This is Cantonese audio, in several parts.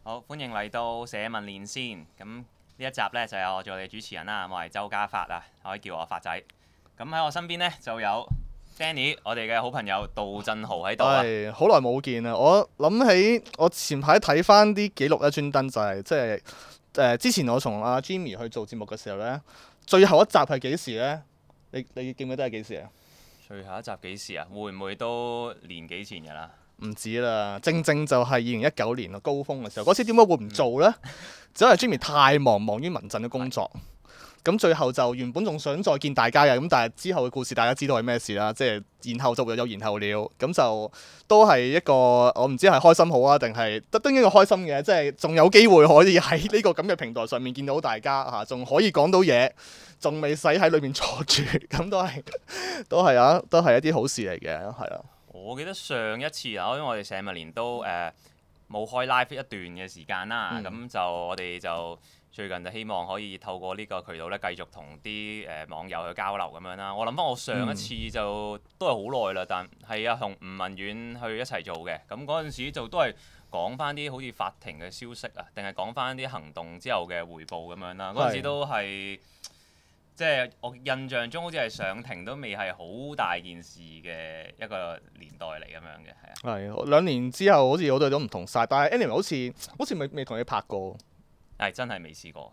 好，歡迎嚟到社民連線。咁呢一集呢，就有我做你主持人啦，我係周家發啊，可以叫我發仔。咁喺我身邊呢，就有 Danny，我哋嘅好朋友杜振豪喺度啊。 係好耐冇見啦！我諗起我前排睇翻啲記錄咧，專登就係即係之前我同阿 Jimmy 去做節目嘅時候呢，最後一集係幾時呢？你記唔記得係幾時啊？ 最後一集幾時啊？會唔會都年幾前㗎啦？ 唔止啦，正正就係2019年嘅高峰嘅時候，嗰時點解會唔做呢？只係 Jimmy 太忙於民陣嘅工作。咁最後就原本仲想再見大家嘅，咁但係之後嘅故事大家知道係咩事啦，即係然後就會有然後了，咁就都係一個我唔知係開心好啊，定係都應該開心嘅，即係仲有機會可以喺呢個咁嘅平台上面見到大家嚇，仲可以講到嘢，仲未使喺裏面坐住，咁都係一啲好事嚟嘅，係啦。 我記得上一次啊，因為我哋社民連都冇開 live 一段嘅時間啦，咁就我哋就最近就希望可以透過呢個渠道咧，繼續同啲網友去交流咁樣啦。我諗翻我上一次就都係好耐啦，但係啊同吳文遠去一齊做嘅，咁嗰陣時就都係講翻啲好似法庭嘅消息啊，定係講翻啲行動之後嘅回報咁樣啦。嗰陣時都係。即係我印象中好似係上庭都未係好大件事嘅一個年代嚟咁樣嘅，係啊。 係2年之後好似好多都唔同晒，但係 anyway 好似未同你拍過。 係真係未試過。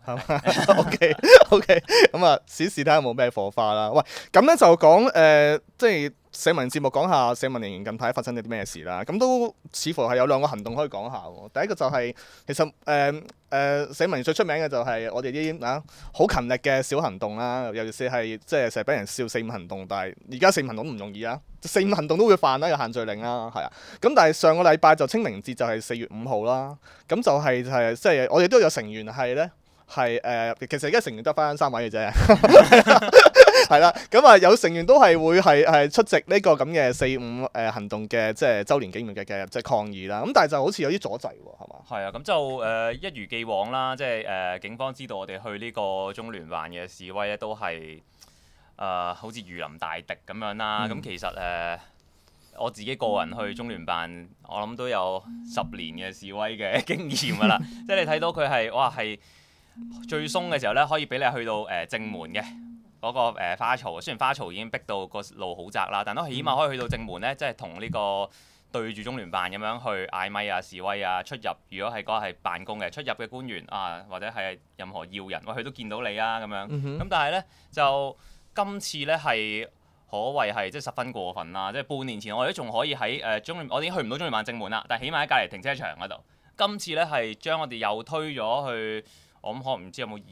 OK，咁啊，試試睇下有冇咩火花啦。喂，咁咧就講即係社民節目講下社民連近排發生咗啲咩事啦。咁都似乎係有2個行動可以講下喎。第一個就係、其實社民最出名嘅就係我哋啲好勤力嘅小行動啦，尤其是係即係成日俾人笑4.5行動，但係而家4.5行動都唔容易啊，4.5行動都會犯啦，有限聚令啦，係啊。咁但係上個禮拜就清明節就係4月5號啦，咁就係即係我哋都有成員係咧。係其實而家成員得翻3位嘅啫，係啦，咁啊有成員都係會係出席呢個咁嘅4.5行動嘅即係週年紀念嘅即係抗議啦。咁但係就好似有啲阻滯喎，係嘛？ 係啊，咁就一如既往啦，即係警方知道我哋去呢個中聯辦嘅示威咧，都係好似如臨大敵咁樣啦。咁其實我自己個人去中聯辦，我諗都有10年嘅示威嘅經驗㗎啦。即係你睇到佢係哇係。最鬆嘅時候咧，可以俾你去到正門嘅嗰個花槽。雖然花槽已經逼到個路好窄啦，但都起碼可以去到正門咧，即係同呢個對住中聯辦咁樣去嗌咪啊、示威啊、出入。如果係嗰個係辦公嘅出入嘅官員啊，或者係任何要人，喂佢都見到你啊咁樣。咁但係咧就今次咧係可謂係即係十分過分啦！即係半年前我哋都仲可以喺我已經去唔到中聯辦正門啦，但係起碼喺隔離停車場嗰度。今次咧係將我哋又推咗去。我諗可能唔知有冇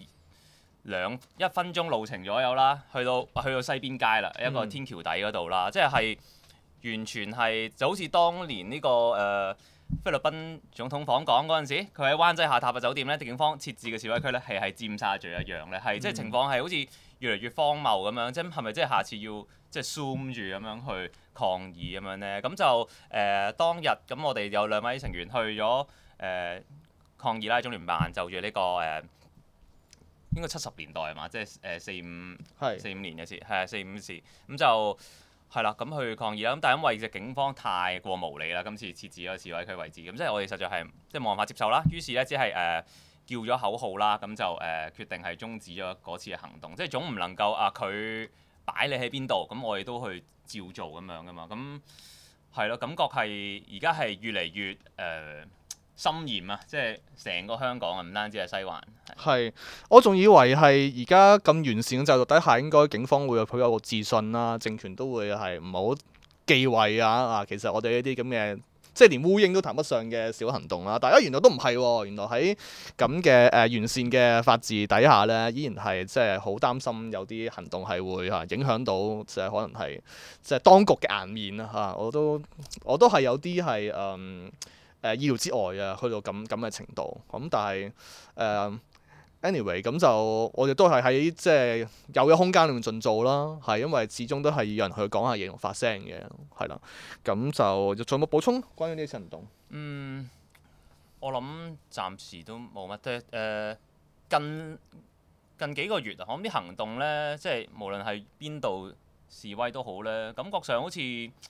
1分鐘路程左右啦，去到西邊街啦，一個天橋底嗰度啦，即係完全係就好似當年呢個菲律賓總統訪港嗰陣時，佢喺灣仔下榻嘅酒店咧，警方設置嘅示威區咧係尖沙咀一樣咧，係即係情況係好似越嚟越荒謬咁樣，即係咪即係下次要即係 zoom 住咁樣去抗議咁樣咧？咁就當日咁我哋有2位成員去咗抗議啦，中聯辦就住呢個應該70年代係嘛，即係4.5年嘅事，係啊4.5事，咁就係啦，咁去抗議啦。咁但係因為隻警方太過無理啦，今次設置咗示威區位置，咁即係我哋實在係即係冇辦法接受啦。於是咧只係叫咗口號啦，咁就決定係終止咗嗰次嘅行動。即係總唔能夠佢擺你喺邊度，咁我哋都去照做咁樣噶嘛。咁係咯，感覺係而家係越嚟越森嚴啊！即係成個香港啊，唔單止係西環。 係，我仲以為係而家咁完善嘅制度底下，應該警方會有個自信啦，政權都會係唔好忌諱啊！其實我哋呢啲咁嘅，即係連烏蠅都談不上嘅小行動啦。大家原來都唔係喎，原來喺咁嘅完善嘅法治底下呢，依然係即係好擔心有啲行動係會影響到即係可能係即係當局嘅顏面啊！嚇，我都係有啲係意料之外啊，去到咁嘅程度。咁但係anyway 咁就我哋都係喺即係有嘅空間裏面盡做啦。係因為始終都係要有人去講下嘢同發聲嘅，係啦。咁就仲有冇補充關於呢次行動？ 我諗暫時都冇乜。即係近幾個月啊，我諗啲行動咧，即係無論係邊度示威都好咧，感覺上好似即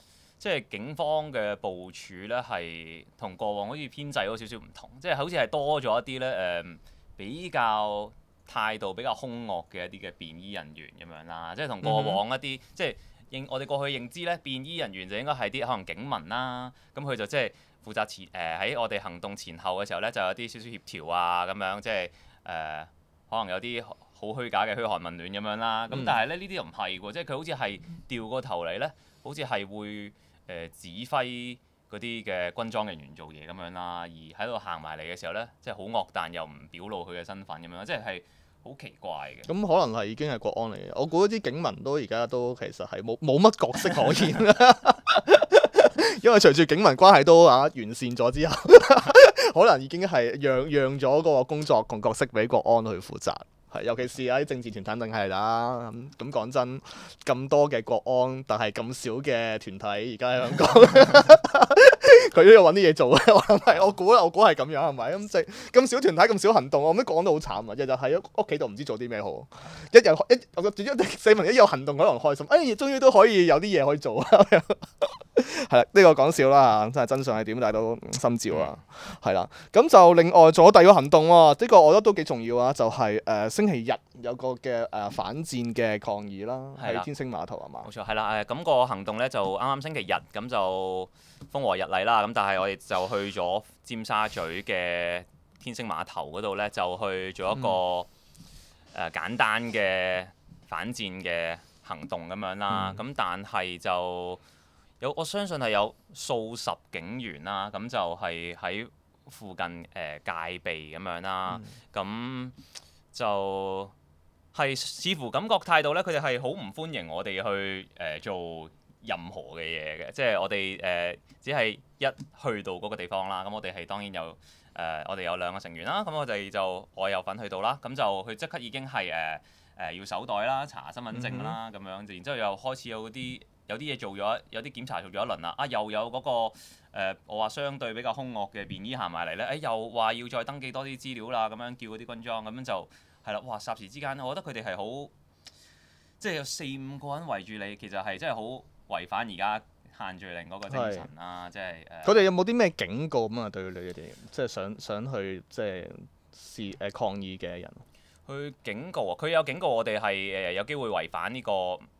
即係警方嘅部署咧係同過往好似編制有少少唔同，即係好似係多咗一啲咧比較態度比較兇惡嘅一啲嘅便衣人員咁樣啦，即係同過往一啲即係我哋過去認知咧，便衣人員就應該係啲可能警民啦，咁佢就即係負責喺我哋行動前後嘅時候咧，就有啲少少協調啊咁樣，即係可能有啲好虛假嘅噓寒問暖咁樣啦。咁但係咧呢啲又唔係喎，即係佢好似係調個頭嚟咧，好似係會指揮嗰啲嘅軍裝人員做嘢咁樣啦，而喺度行埋嚟嘅時候咧，即係好惡，但又唔表露佢嘅身份咁樣，即係好奇怪嘅。 咁可能係已經係國安嚟嘅，我估啲警民都而家都其實係冇乜角色可言啦。因為隨住警民關係都完善咗之後，可能已經係讓咗嗰個工作同角色俾國安去負責。係，尤其是啲政治團體定係啦。咁講真，咁多嘅國安，但係咁少嘅團體，而家喺香港，佢都要揾啲嘢做嘅。我估係咁樣係咪？咁即係咁少團體咁少行動，我覺得講得好慘啊！日日喺屋企度唔知做啲咩好。我市民一有行動可能開心，終於都可以有啲嘢可以做啊！係啦，呢個講笑啦，真係真相係點，大家都心照啊。係啦，咁就另外仲有第二個行動喎，呢個我覺得都幾重要啊，就係星期日有個嘅反戰嘅抗議啦，喺天星碼頭係嘛？ 冇錯，係啦，咁個行動咧就啱啱星期日咁就風和日麗啦，咁但係我哋就去咗尖沙咀嘅天星碼頭嗰度咧，就去做一個簡單嘅反戰嘅行動咁樣啦。咁但係就我相信係有數十警員啦，咁就係喺附近戒備咁樣啦。咁就係似乎感覺態度咧，佢哋係好唔歡迎我哋去做任何嘅嘢嘅，即係我哋只係一去到嗰個地方啦。咁我哋係當然有我哋有兩個成員啦。咁我有份去到啦。咁就佢即刻已經係要手袋啦、查身份證啦咁樣，然之後又開始有啲嘢做咗，有啲檢查做咗一輪啦。又有嗰個我話相對比較兇惡嘅便衣行埋嚟咧，又話要再登記多啲資料啦，咁樣叫嗰啲軍裝，咁樣就係啦。哇！霎時之間，我覺得佢哋係好，即係有4-5個人圍住你，其實係真係好違反而家限聚令嗰個精神啦。即係佢哋有冇啲咩警告咁啊？對你哋即係想去即係抗議嘅人？ 去警告啊！佢有警告我哋係有機會違反呢個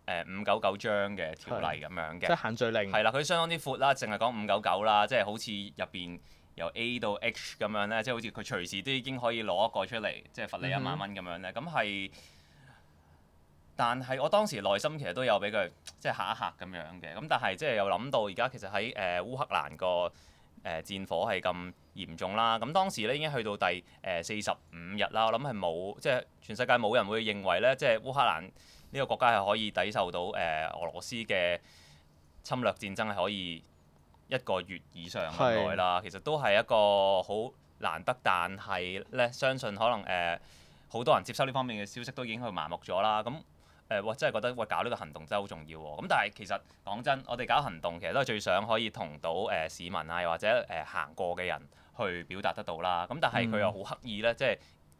599章嘅條例咁樣嘅。 即係限聚令。 係啦，佢相當之闊啦，淨係講599啦，即係好似入邊由 A 到 H 咁樣咧，即係好似佢隨時都已經可以攞一個出嚟，即係罰你1萬蚊咁樣咧。咁係，但係我當時內心其實都有俾佢即係嚇一嚇咁樣嘅。咁但係即係又諗到而家其實喺烏克蘭個戰火係咁嚴重啦，咁當時咧已經去到第45日啦，我諗係冇，即係全世界冇人會認為咧，即係烏克蘭呢個國家係可以抵受到俄羅斯嘅侵略戰爭係可以1個月以上咁耐啦。其實都係一個好難得，但係咧相信可能好多人接收呢方面嘅消息都已經去麻木咗啦。咁真係覺得搞呢個行動真係好重要喎。咁但係其實講真，我哋搞行動其實都係最想可以同到市民啊，又或者行過嘅人去表達得到啦。咁但係佢又好刻意咧，即係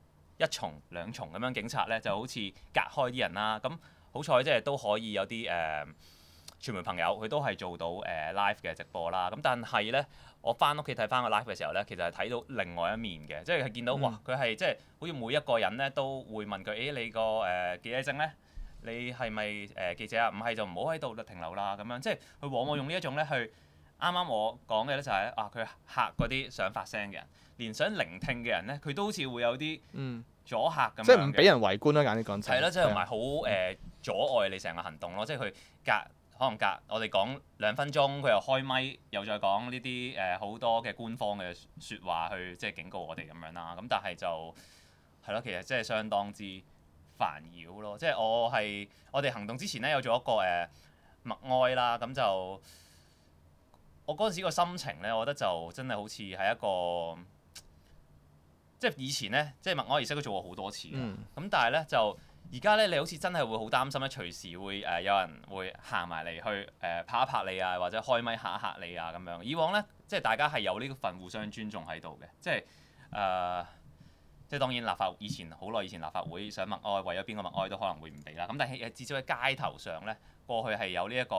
1重2重咁樣，警察咧就好似隔開啲人啦。咁好彩即係都可以有啲傳媒朋友佢都係做到live 嘅直播啦。咁但係咧，我翻屋企睇翻個 live 嘅時候咧，其實係睇到另外一面嘅，即係見到哇，佢係即係好似每一個人咧都會問佢，你個記者證咧？你係咪記者啊？唔係就唔好喺度停留啦咁樣，即係佢往往用呢一種咧去啱啱我講嘅咧就係佢嚇嗰啲想發聲嘅人，連想聆聽嘅人咧，佢都好似會有啲阻嚇咁樣嘅。 即係唔俾人圍觀啦，簡單講就係。 係啦，即係同埋好阻礙你成個行動咯。即係佢可能隔我哋講2分鐘，佢又開咪，又再講呢啲好多嘅官方嘅説話去即係警告我哋咁樣啦。咁但係就係咯，其實即係相當之煩擾咯，即係我哋行動之前咧有做一個默哀啦，咁就我嗰陣時個心情咧，我覺得就真係好似係一個即係以前咧，即係默哀儀式都做過好多次咁但係咧就而家咧你好似真係會好擔心咧，隨時會有人會行埋嚟去拍一拍你啊，或者開咪嚇一嚇你啊咁樣。以往咧即係大家係有呢份互相尊重喺度嘅，即係即係當然好耐以前立法會想默哀，為咗邊個默哀都可能會唔俾啦。咁但係至少喺街頭上咧，過去係有呢一個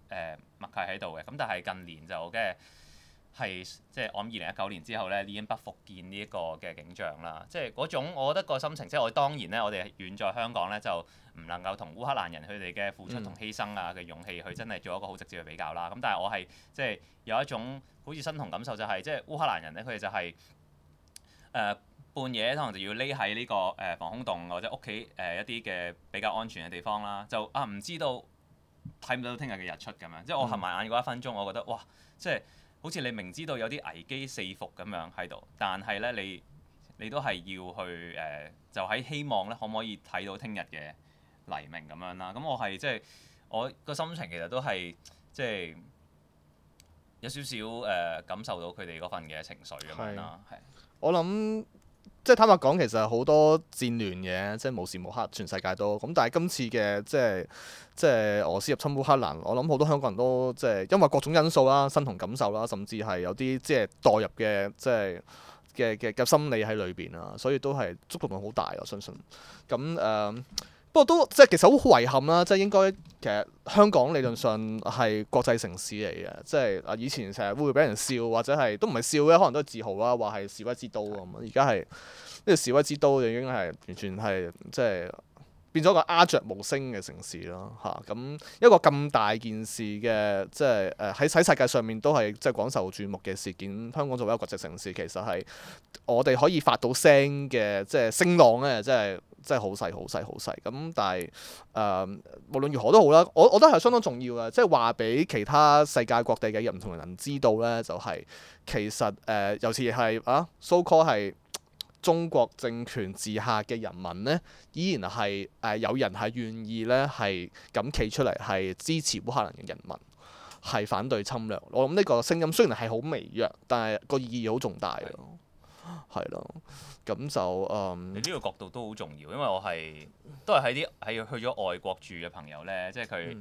默契喺度嘅。咁但係近年就係即係我諗2019年之後咧，已經不復見呢一個嘅景象啦。即係嗰種我覺得個心情，即係我當然咧，我哋遠在香港咧就唔能夠同烏克蘭人佢哋嘅付出同犧牲啊嘅勇氣去真係做一個好直接嘅比較啦。咁但係我係即係有一種好似身同感受，就係即係烏克蘭人咧，佢哋就係半夜可能就要匿喺呢個防空洞或者屋企一啲嘅比較安全嘅地方啦，就唔知道睇唔到聽日嘅日出咁樣。即係我合埋眼嗰一分鐘，我覺得哇，即係好似你明知道有啲危機四伏咁樣喺度，但係咧你都係要去就喺希望咧可唔可以睇到聽日嘅黎明咁樣啦。咁我係即係我個心情其實都係即係有少少感受到佢哋嗰份嘅情緒咁樣啦。係我諗即係坦白講，其實好多戰亂嘅，即係無時無刻全世界都咁。但係今次嘅即係俄羅斯入侵烏克蘭，我諗好多香港人都即係因為各種因素啦、身同感受啦，甚至係有啲即係代入嘅即係嘅心理喺裏邊啊，所以都係觸動好大，我相信。咁不過都即係其實好遺憾啦，即係應該其實香港理論上係國際城市嚟嘅，即係以前成日會俾人笑或者係都唔係笑嘅，可能都係自豪啦，話係示威之都咁。而家係呢個示威之都已經係完全係即係變咗個鴉雀無聲嘅城市咯嚇。咁一個咁大件事嘅即係喺世界上面都係即係廣受注目嘅事件，香港作為一個國際城市，其實係我哋可以發到聲嘅即係聲浪咧，真係好細好細好細咁，但係無論如何都好啦，我覺得係相當重要嘅，即係話俾其他世界各地嘅唔同人知道咧，就係、其實尤其係so call 係中國政權治下嘅人民咧，依然係有人係願意咧係咁企出嚟係支持烏克蘭嘅人民，係反對侵略。我諗呢個聲音雖然係好微弱，但係個意義好重大咯，係咯。咁就你呢個角度都好重要，因為我都係去咗外國住嘅朋友咧，即係佢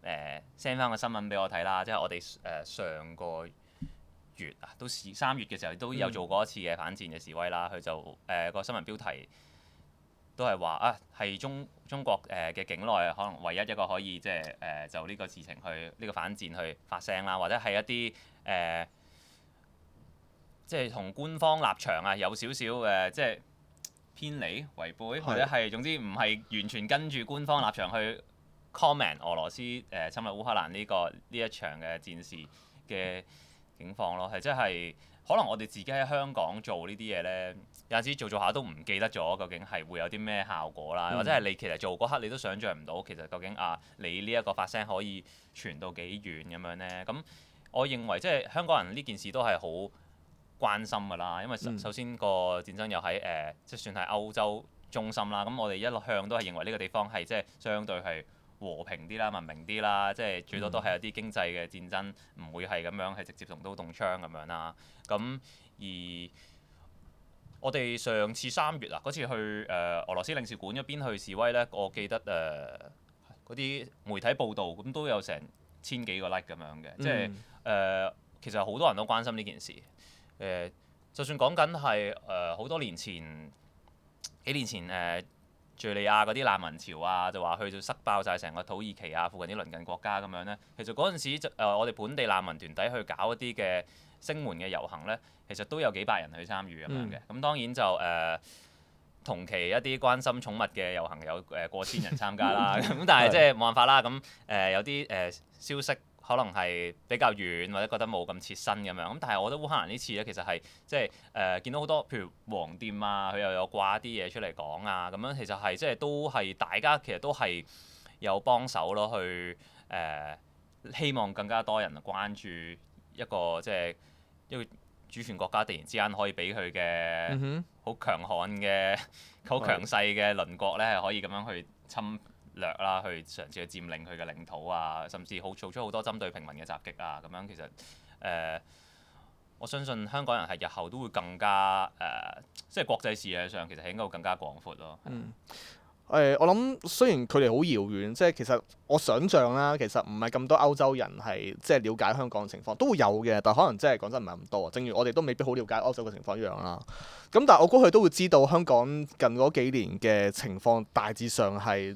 send 翻個新聞俾我睇啦，即係我哋上個月到3月嘅時候都有做過一次嘅反戰嘅示威啦。佢就個新聞標題都係話係中國嘅境內可能唯一一個可以即係就呢個事情去呢個反戰去發聲啦，或者係一啲即係同官方立場有少少即係偏離違背，或者係總之唔係完全跟住官方立場去 comment 俄羅斯侵略烏克蘭呢一場嘅戰事嘅境況咯。係即係可能我哋自己喺香港做呢啲嘢咧，有陣時做下都唔記得咗究竟係會有啲咩效果啦，或者係你其實做嗰刻你都想像唔到，其實究竟你呢一個發聲可以傳到幾遠咁樣咧？咁我認為即係香港人呢件事都係好關心㗎啦，因為首先個戰爭又喺即係算係歐洲中心啦。咁我哋一向都係認為呢個地方係即係相對係和平啲啦、文明啲啦，即係最多都係有啲經濟嘅戰爭，唔會係咁樣係直接動刀動槍咁樣啦。咁而我哋上次3月嗰次去俄羅斯領事館嗰邊去示威咧，我記得嗰啲媒體報導咁都有成1000幾個 like 咁樣嘅，即係其實好多人都關心呢件事。就算講緊係好多年前幾年前敍利亞嗰啲難民潮就話去到塞爆晒成個土耳其附近啲鄰近國家咁樣咧。其實嗰陣時我哋本地難民團體去搞一啲嘅聲援嘅遊行咧，其實都有幾百人去參與咁樣嘅。咁當然就同期一啲關心寵物嘅遊行有過千人參加啦。咁但係即係冇辦法啦。咁有啲消息可能係比較遠或者覺得冇咁切身咁樣，咁但係我覺得烏克蘭呢次咧，其實係即係見到好多譬如黃店佢又有掛啲嘢出嚟講咁樣，其實係即係都係大家其實都係有幫手咯，去希望更加多人關注一個即係一個主權國家突然之間可以俾佢嘅好強悍嘅好強勢嘅鄰國咧，係可以咁樣去侵略啦，去嘗試去佔領佢嘅領土甚至做出好多針對平民嘅襲擊咁樣。其實我相信香港人係日後都會更加即係國際視野上其實係應該會更加廣闊咯。 我諗雖然距離好遙遠，即係其實我想像啦，其實唔係咁多歐洲人係即係了解香港嘅情況，都會有嘅，但可能真係講真唔係咁多。正如我哋都未必好了解歐洲嘅情況一樣啦。咁但係我估佢都會知道香港近嗰幾年嘅情況大致上係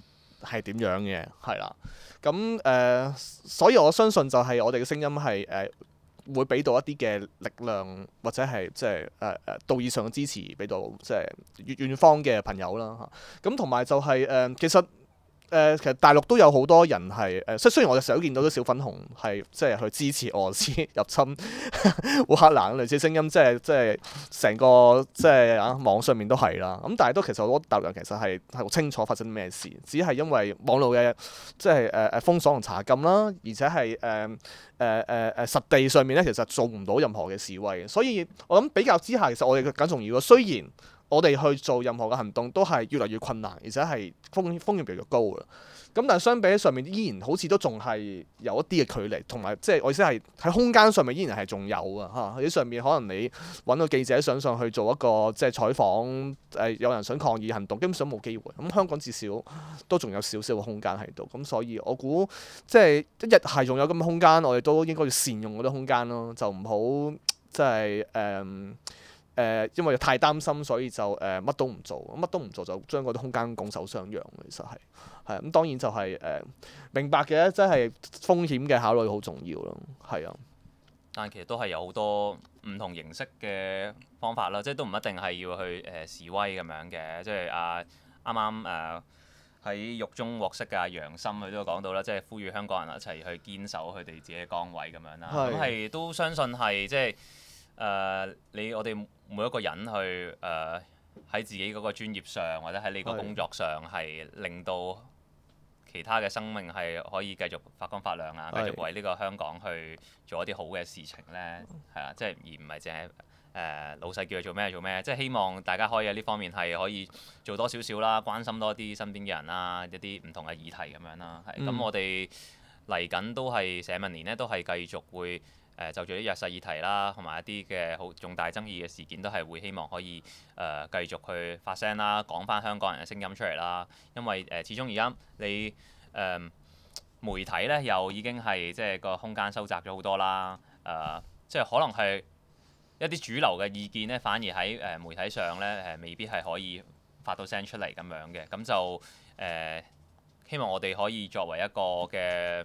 係點樣嘅，係啦。咁所以我相信就係我哋嘅聲音係會俾到一啲嘅力量，或者係即係道義上嘅支持，俾到即係遠方嘅朋友啦嚇。咁同埋就係其實大陸都有好多人係即係雖然我哋成日都見到啲小粉紅係即係去支持俄羅斯入侵烏克蘭類似聲音，即係成個即係網上面都係啦。咁但係都其實好多大陸人其實係好清楚發生咩事，只係因為網絡嘅即係封鎖同查禁啦，而且係實地上面咧其實做唔到任何嘅示威，所以我諗比較之下，其實我哋更重要嘅，雖然我哋去做任何嘅行動都係越嚟越困難，而且係風險越嚟越高嘅。咁但係相比起上面，依然好似都仲係有一啲嘅距離，同埋即係我意思係喺空間上面依然係仲有啊嚇。喺上面可能你揾個記者想上去做一個即係採訪，有人想抗議行動，基本上冇機會。咁香港至少都仲有少少嘅空間喺度。咁所以我估即係一日係仲有咁嘅空間，我哋都應該要善用嗰啲空間咯，就唔好即係因為太擔心，所以就乜都唔做，乜都唔做就將嗰啲空間拱手相讓。其實係咁，當然就係明白嘅，即係風險嘅考慮好重要咯。係啊， 但其實都係有好多唔同形式嘅方法啦，即係都唔一定係要去示威咁樣嘅。即係啱啱喺獄中獲釋嘅楊森佢都講到啦，即係呼籲香港人一齊去堅守佢哋自己嘅崗位咁樣啦。咁係都相信係即係我哋每一個人去喺自己嗰個專業上，或者喺你個工作上係令到其他嘅生命係可以繼續發光發亮啊，繼續為呢個香港去做一啲好嘅事情咧，係啊，即係而唔係淨係老細叫佢做咩做咩，即係希望大家可以喺呢方面係可以做多少少啦，關心多啲身邊嘅人啦，一啲唔同嘅議題咁樣啦，係咁我哋嚟緊都係社民連咧，都係繼續會。就住啲弱勢議題啦，同埋一啲嘅好重大爭議嘅事件，都係會希望可以繼續去發聲啦，講翻香港人嘅聲音出嚟啦。因為始終而家你媒體咧又已經係即係個空間收窄咗好多啦。即係可能係一啲主流嘅意見咧，反而喺媒體上咧未必係可以發到聲出嚟咁樣嘅。咁就希望我哋可以作為一個嘅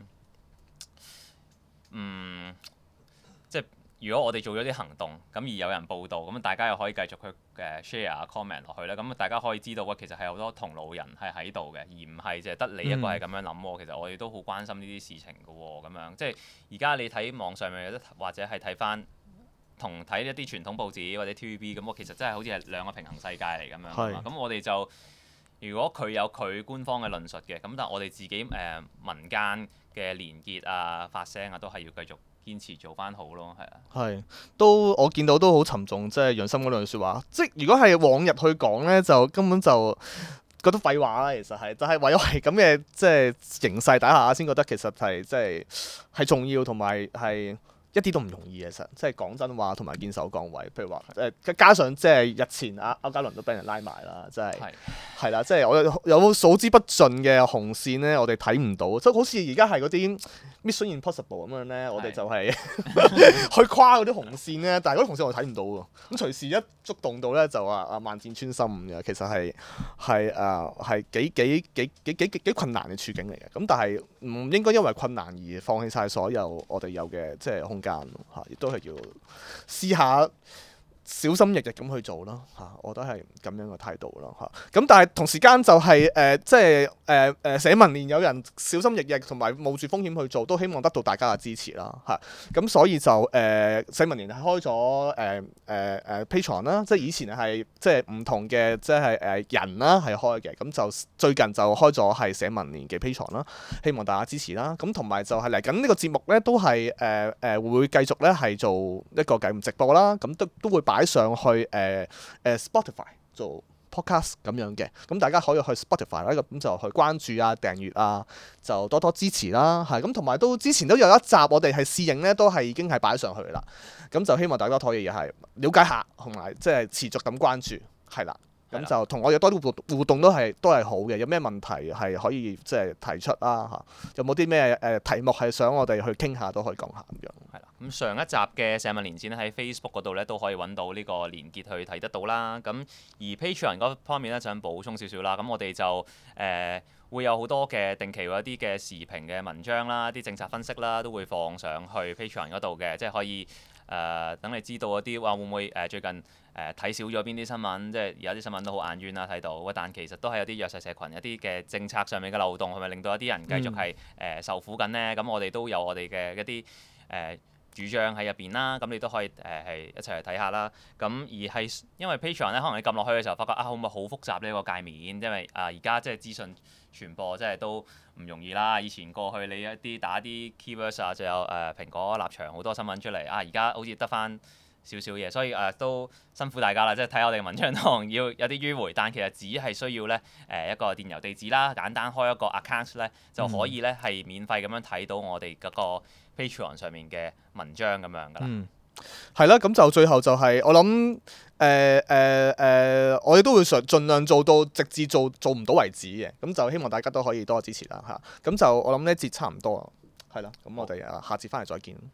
即係如果我哋做咗啲行動，咁而有人報道，咁大家又可以繼續去share comment 落去咧，咁大家可以知道其實係好多同路人係喺度嘅，而唔係淨係得你一個係咁樣諗喎。其實我哋都好關心呢啲事情嘅喎，咁樣即係而家你睇網上面有得，或者係睇翻同睇一啲傳統報紙或者 TVB 咁，我其實真係好似係兩個平衡世界嚟咁樣。咁我哋就如果佢有佢官方嘅論述嘅，咁但係我哋自己民間嘅連結啊、發聲啊，都係要繼續堅持做翻好咯，係啊。係， 都我見到都好沉重，即係楊森嗰兩句説話。即係如果係往日去講咧，就根本就覺得廢話啦。其實係，就係為咗係咁嘅即係形勢底下，先覺得其實係即係重要，同埋係一啲都唔容易嘅。其實即係講真話，同埋堅守崗位。譬如話加上即係日前歐嘉倫都俾人拉埋啦，即係係啦，即係我有數之不盡嘅紅線咧，我哋睇唔到，即係好似而家係嗰啲Mission Impossible 咁樣咧，我哋就係去跨嗰啲紅線咧，但係嗰啲紅線我哋睇唔到喎。咁隨時一觸動到咧，就話萬箭穿心嘅，其實係幾困難嘅處境嚟嘅。咁但係唔應該因為困難而放棄晒所有我哋有嘅即係空間嚇，亦都係要試下。小心翼翼咁去做咯嚇，我覺得係咁樣嘅態度咯嚇。咁但係同時間就係即係社民連有人小心翼翼同埋冒住風險去做，都希望得到大家嘅支持啦嚇。咁所以就社民連係開咗Patreon 啦，即係以前係即係唔同嘅即係人啦係開嘅，咁就最近就開咗係社民連嘅 Patreon 啦，希望大家支持啦。咁同埋就係嚟緊呢個節目咧，都係會繼續咧係做一個直播啦，咁都會擺上去Spotify 做 podcast 咁樣嘅，咁大家可以去 Spotify 啦，咁就去關注啊、訂閱啊，就多多支持啦，係咁，同埋都之前都有一集我哋係試映咧，都係已經係擺上去啦，咁就希望大家可以係了解下，同埋即係持續咁關注，係啦。咁就同我哋多啲互動都係好嘅，有咩問題係可以即係提出啦嚇，有冇啲咩題目係想我哋去傾下都可以講下咁樣。係啦，咁上一集嘅社民連線喺 Facebook 嗰度咧都可以揾到呢個連結去睇得到啦。咁而 Patreon 嗰方面咧想補充少少啦，咁我哋就會有好多嘅定期嗰啲嘅時評嘅文章啦、啲政策分析啦，都會放上去 Patreon 嗰度嘅，即係可以等你知道嗰啲話會唔會最近睇少咗邊啲新聞，即係而家啲新聞都好眼冤啦睇到，但其實都係有啲弱勢社群一啲嘅政策上面嘅漏洞，係咪令到一啲人繼續係受苦緊呢？咁我哋都有我哋嘅一啲主張喺入邊啦，咁你都可以係一齊去睇下啦。咁而係因為 Patreon 咧，可能你撳落去嘅時候，發覺會唔會好複雜呢個界面？因為而家即係資訊傳播即係都唔容易啦。以前過去你一啲打啲 keywords 啊，就有蘋果立場好多新聞出嚟而家好似得翻少少嘢，所以都辛苦大家啦。即係睇我哋嘅文章可能要有啲迂迴，但其實只係需要咧一個電郵地址啦，簡單開一個 account 咧就可以咧係免費咁樣睇到我哋嗰個 Patreon 上面嘅文章咁樣噶啦。 係啦，咁就最後就係、我諗我哋都會盡量做到直至做唔到為止嘅，咁就希望大家都可以多支持啦嚇。咁就我諗呢節差唔多，係啦，咁我哋下節翻嚟再見。